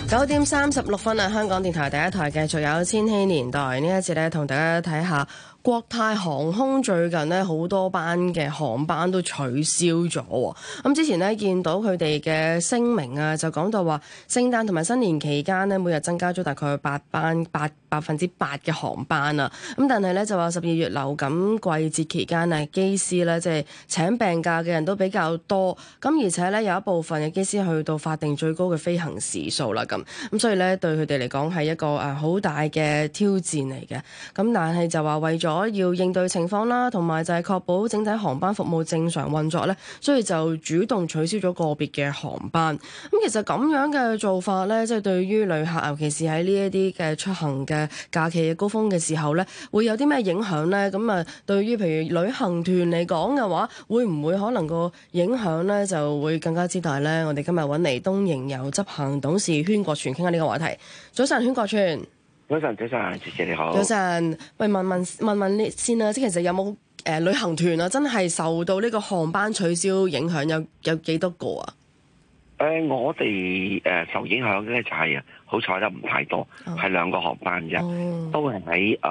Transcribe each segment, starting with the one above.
9:36啊！香港電台第一台繼續有千禧年代呢一節咧，同大家睇下國泰航空最近呢好多班嘅航班都取消咗。咁之前呢見到佢哋嘅聲明啊，就講到話聖誕同埋新年期間呢，每日增加咗大概8%嘅航班啊。咁但係咧就話12月流感季節期間啊，機師咧即係請病假嘅人都比較多。咁而且咧有一部分嘅機師去到法定最高嘅飛行時數啦。咁所以咧對佢哋嚟講係一個好大嘅挑戰嚟嘅。咁但係就話為咗要應對情況啦，同埋就係確保整體航班服務正常運作咧，所以就主動取消咗個別嘅航班。咁其實咁樣嘅做法咧，即係對於旅客，尤其是喺呢一啲嘅出行嘅假期嘅高峰嘅時候咧，會有啲咩影響咧？咁啊，對於譬如旅行團嚟講嘅話，會唔會可能個影響咧就會更加之大咧？我哋今日揾嚟東瀛遊執行董事禤國全傾下呢個話題。早晨，禤國全。 早晨，謝謝你好。 早晨，喂，問你先啦，即係其實有冇旅行團啊，真係受到呢個航班取消影響有幾多個啊？ 我哋受影響咧就係好彩得唔太多，係2個航班啫，都係喺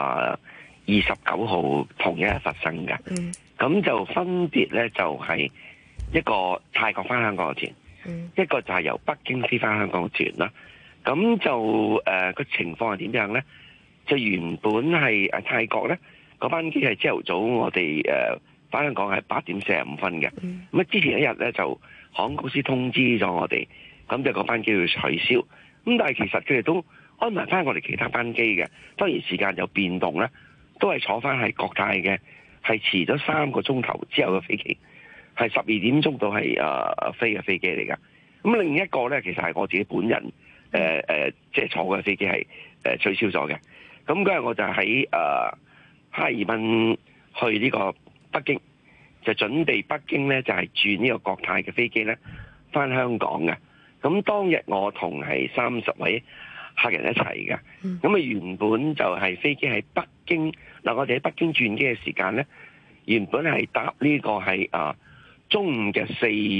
29號同一日發生嘅。咁就分別咧就係一個泰國翻香港嘅團，一個就係由北京飛翻香港嘅團啦。咁就個情況係點樣咧？就原本係泰國咧嗰班機係朝頭早，我哋翻香港係8:45嘅。咁之前一日咧就航空公司通知咗我哋，咁就嗰班機要取消。咁但係其實佢哋都安排翻我哋其他班機嘅，當然時間有變動咧，都係坐翻係國泰嘅，係遲咗3個鐘頭之後嘅飛機，係12點鐘到係飛嘅飛機嚟㗎。咁另一個咧，其實係我自己本人。即係坐嘅飛機係取消咗嘅。咁嗰日我就喺哈爾濱去呢個北京，就準備北京咧就係轉呢個國泰嘅飛機咧翻香港嘅。咁當日我同係30位客人一齊嘅。咁啊原本就係飛機喺北京嗱，我哋喺北京轉機嘅時間咧，原本係搭呢個係中午嘅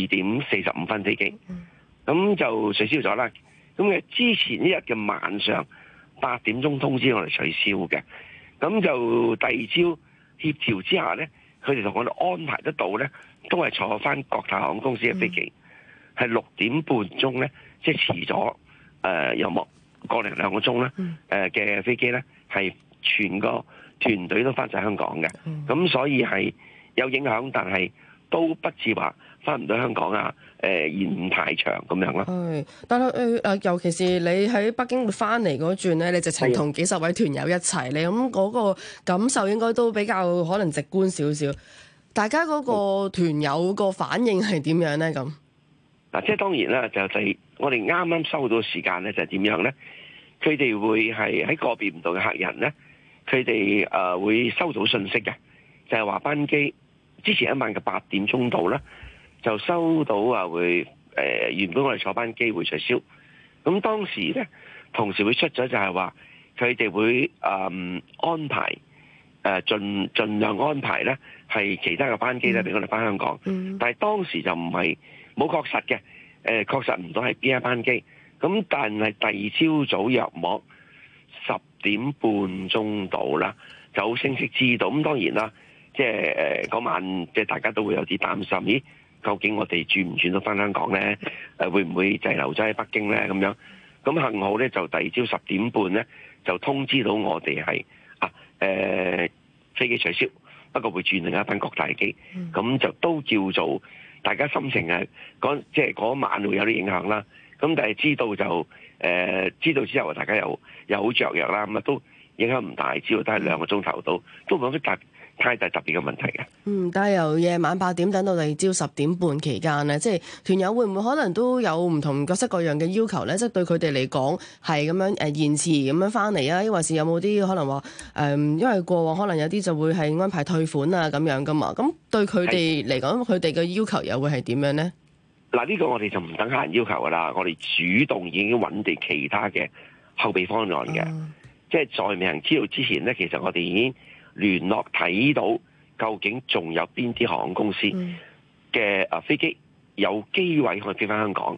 4:45飛機，咁就取消咗啦。咁之前一日嘅晚上8點鐘通知我哋取消嘅，咁就第二朝協調之下咧，佢哋同我哋安排得到咧，都係坐翻國泰航空公司嘅飛機，係6點半鐘咧，即係遲咗有冇個零2個鐘啦，嘅飛機咧，係全個團隊都翻晒香港嘅，咁所以係有影響，但係都不至話翻唔到香港啊！延太長咁樣咯。係， 但係尤其是你喺北京翻嚟嗰轉咧，你直情同幾十位團友一齊，你咁嗰個感受應該都比較可能直觀少少。大家嗰個團友個反應係點樣咧？咁嗱，即係當然啦，就係我哋啱啱收到時間咧，就係點樣咧？佢哋會係喺個別唔同嘅客人咧，佢哋會收到信息嘅，就係話班機之前一晚嘅8點鐘到啦。就收到會原本我哋坐班機會取消，咁當時咧同時會出咗就係話佢哋會安排盡量安排咧係其他嘅班機咧俾我哋翻香港，但係當時就唔係冇確實嘅，確實唔到係邊一班機，咁但係第二朝早約莫10點半鐘到啦，就好清晰知道。咁當然啦，即係嗰晚即係大家都會有啲擔心，咦？究竟我哋轉唔轉到翻香港咧？會唔會滯留咗喺北京咧？咁樣咁幸好咧，就第二朝10點半咧就通知到我哋係飛機取消，不過會轉另一班國泰機，咁就都叫做大家心情即係嗰晚會有啲影響啦。咁但係知道就知道之後，大家又好雀躍啦。咁啊都影響唔大，只要都係2個鐘頭到，都冇乜太大特別嘅問題嘅。 但係由夜晚8點等到第二朝10點半期間咧，即係團友會唔會可能都有唔同各式各樣嘅要求咧？即係對佢哋嚟講係咁樣延遲咁樣翻嚟啊？抑或是有冇啲可能話因為過往可能有啲就會係安排退款啊咁樣噶嘛？咁對佢哋嚟講，佢哋嘅要求又會係點樣咧？ 嗱，呢個我哋就唔等客人要求噶啦，我哋主動已經揾地其他嘅後備方案嘅，即係在未能知道之前咧，其實我哋已經聯絡睇到究竟仲有邊啲航空公司嘅飛機有機位可以飛翻香港，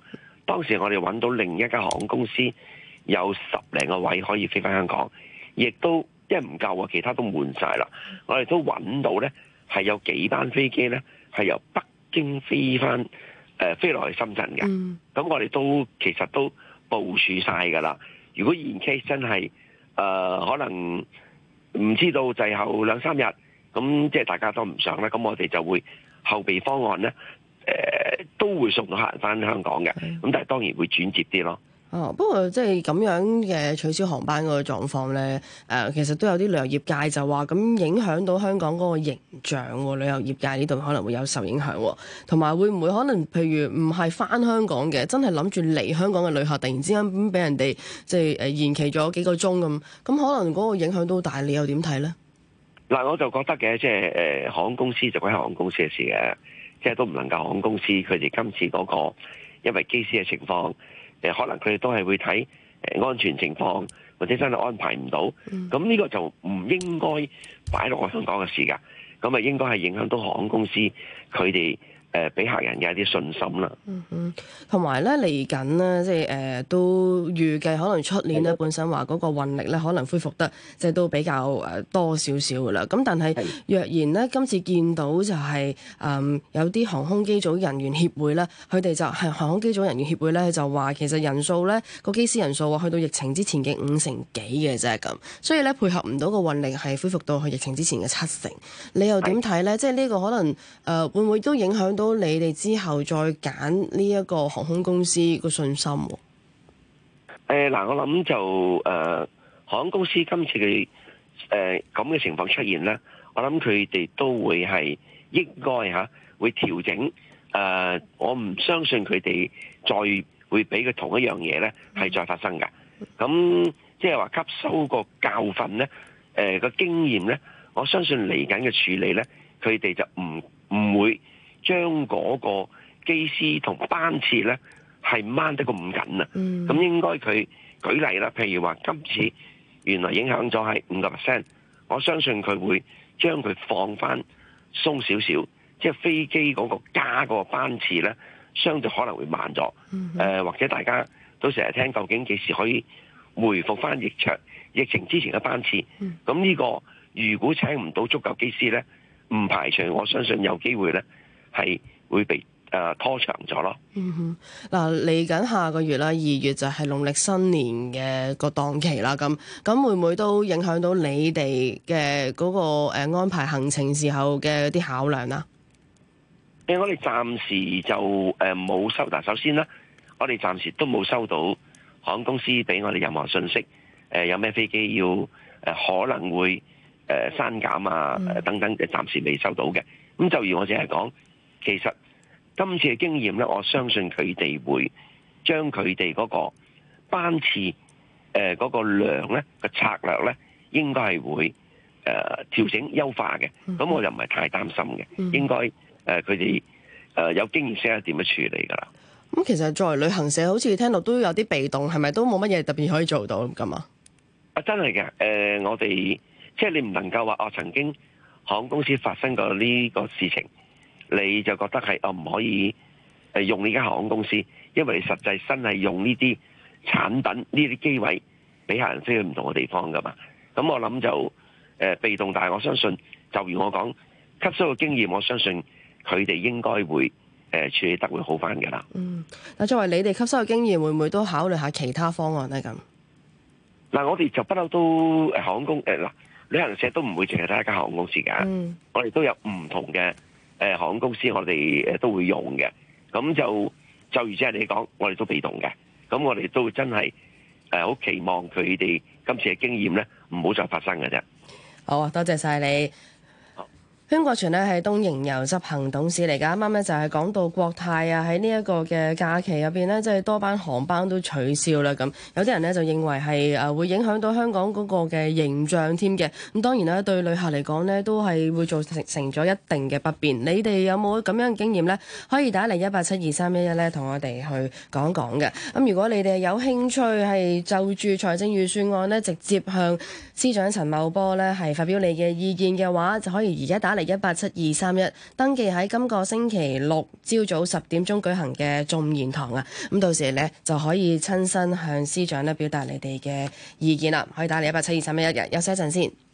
當時我哋揾到另一間航空公司有10零個位可以飛翻香港，亦都因為唔夠啊，其他都滿晒啦。我哋都揾到咧係有幾班飛機咧係由北京飛翻飛落去深圳嘅。咁我哋都其實都部署晒㗎啦。如果in case真係可能唔知道滯後2-3日，咁即係大家都唔想咧，咁我哋就會後備方案咧，都會送到客人翻香港嘅。咁但係當然會轉接啲咯。 哦，不過即係咁樣嘅取消航班嗰個狀況咧，其實都有啲旅遊業界就話咁影響到香港嗰個形象喎，旅遊業界呢度可能會有受影響喎，同埋會唔會可能譬如唔係翻香港嘅，真係諗住嚟香港嘅旅客，突然之間咁俾人哋即係延期咗幾個鐘咁可能嗰個影響都大，你又點睇咧？ 嗱，我就覺得嘅，即係航空公司就關航空公司嘅事嘅，即係都唔能夠航空公司佢哋今次嗰個因為機師嘅情況。可能佢哋都係會睇安全情況，或者真係安排唔到，咁呢個就唔應該擺落去香港嘅事㗎，咁啊應該係影響到航空公司佢哋俾客人嘅一啲信心啦。 同埋咧嚟緊咧，即係都預計可能出年咧本身話嗰個運力咧可能恢復得即係都比較多少少㗎啦。咁但係若然咧今次見到就係有啲航空機組人員協會咧，佢哋就係航空機組人員協會咧就話其實人數咧個機師人數去到疫情之前嘅50%幾嘅啫咁，所以咧配合唔到個運力係恢復到去疫情之前嘅70%。你又點睇咧？即係呢個可能會唔會都影響到你哋之後再揀呢一個航空公司個信心？ 嗱，我諗就航空公司今次嘅咁嘅情況出現咧，我諗佢哋都會係應該會調整。我唔相信佢哋再會俾佢同一樣嘢咧係再發生㗎。咁即係話吸收個教訓咧，個經驗咧，我相信嚟緊嘅處理咧，佢哋就唔會將嗰個機師同班次咧係掹得咁緊啊！咁應該佢舉例啦，譬如話今次原來影響咗係5%，我相信佢會將佢放翻鬆少少，即係飛機嗰個加嗰個班次咧，相對可能會慢咗。或者大家都成日聽，究竟幾時可以回復翻疫情之前嘅班次？咁呢個如果請唔到足夠機師咧，唔排除我相信有機會咧係會被拖長咗咯。 嗱，嚟緊下個月啦，2月就係農曆新年嘅個檔期啦。咁會唔會都影響到你哋嘅嗰個安排行程時候嘅啲考量啊？ 我哋暫時就冇收。嗱，首先啦，我哋暫時都冇收到航空公司俾我哋任何信息，有咩飛機要可能會刪減啊等等，暫時未收到嘅。咁就如我淨係講，其實今次嘅經驗咧，我相信佢哋會將佢哋嗰個班次嗰個量咧個策略咧，應該係會調整優化嘅。咁我又唔係太擔心嘅，應該佢哋有經驗識得點樣處理㗎啦。 咁其實作為旅行社，好似聽到都有啲被動，係咪都冇乜嘢特別可以做到咁啊？ 真係嘅。我哋即係你唔能夠話曾經航空公司發生過呢個事情，你就覺得係唔可以用呢間航空公司，因為你實際真係用呢啲產品呢啲機位俾客人飛去唔同嘅地方㗎嘛。咁我諗就被動，但係我相信就如我講吸收嘅經驗，我相信佢哋應該會處理得會好翻㗎啦。 嗱，作為你哋吸收嘅經驗，會唔會都考慮下其他方案咧？咁嗱，我哋就不嬲都航空公旅行社都唔會淨係得一間航空公司㗎。我哋都有唔同嘅航空公司，我哋都會用嘅。咁就如即係你講，我哋都被動嘅。咁我哋都真係好期望佢哋今次嘅經驗咧，唔好再發生嘅啫。 好啊，多謝晒你。禤國全咧係東瀛遊執行董事嚟㗎，啱啱咧就係講到國泰啊喺呢一個嘅假期入邊咧，即係多班航班都取消啦。咁有啲人咧就認為係會影響到香港嗰個嘅形象添嘅。咁當然啦，對旅客嚟講咧都係會造成咗一定嘅不便。你哋有冇咁樣嘅經驗咧？可以打嚟1872311咧，同我哋去講講嘅。咁如果你哋有興趣係就住財政預算案咧，直接向司長陳茂波咧係發表你嘅意見嘅話，就可以而家打嚟嚟187-231，登記喺今個星期六朝早10點鐘舉行嘅眾言堂啊。咁到時咧就可以親身向司長咧表達你哋嘅意見啦。可以打嚟187-231嘅，休息一陣先。